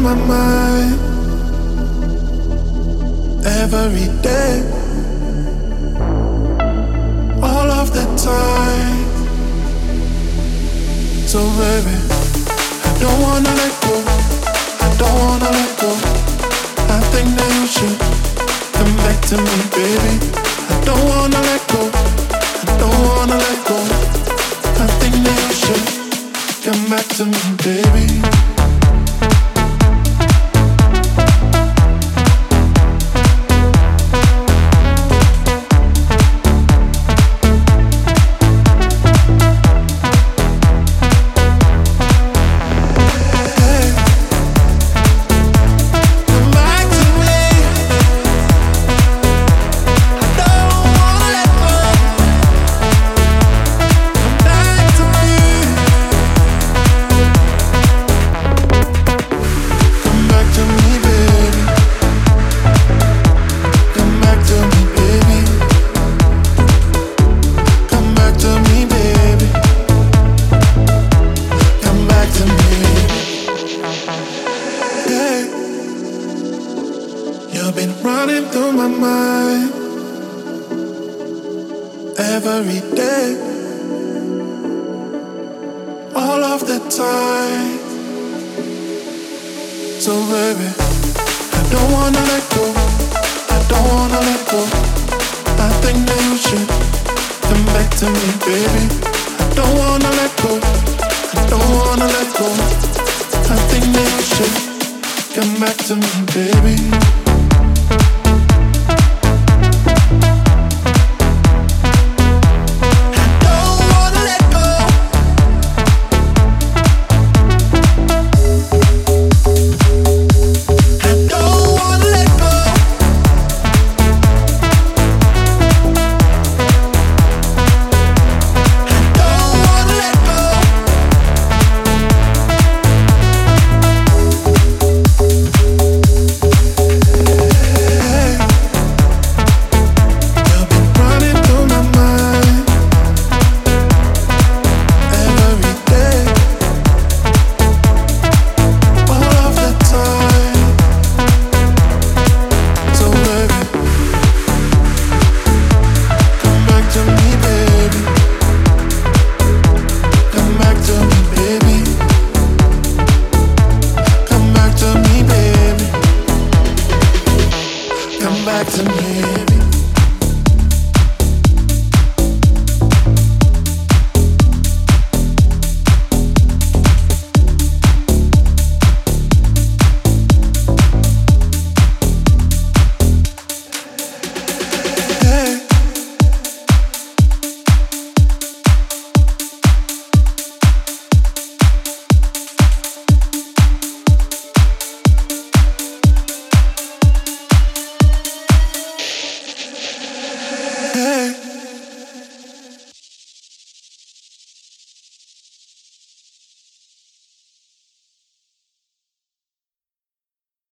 my mind every day, all of the time. So baby, I don't wanna let go, I don't wanna let go. I think that you should come back to me, baby. I don't wanna let go, I don't wanna let go. I think that you should come back to me, baby. You've been running through my mind every day, all of the time. So baby, I don't wanna let go, I don't wanna let go. I think that you should come back to me, baby.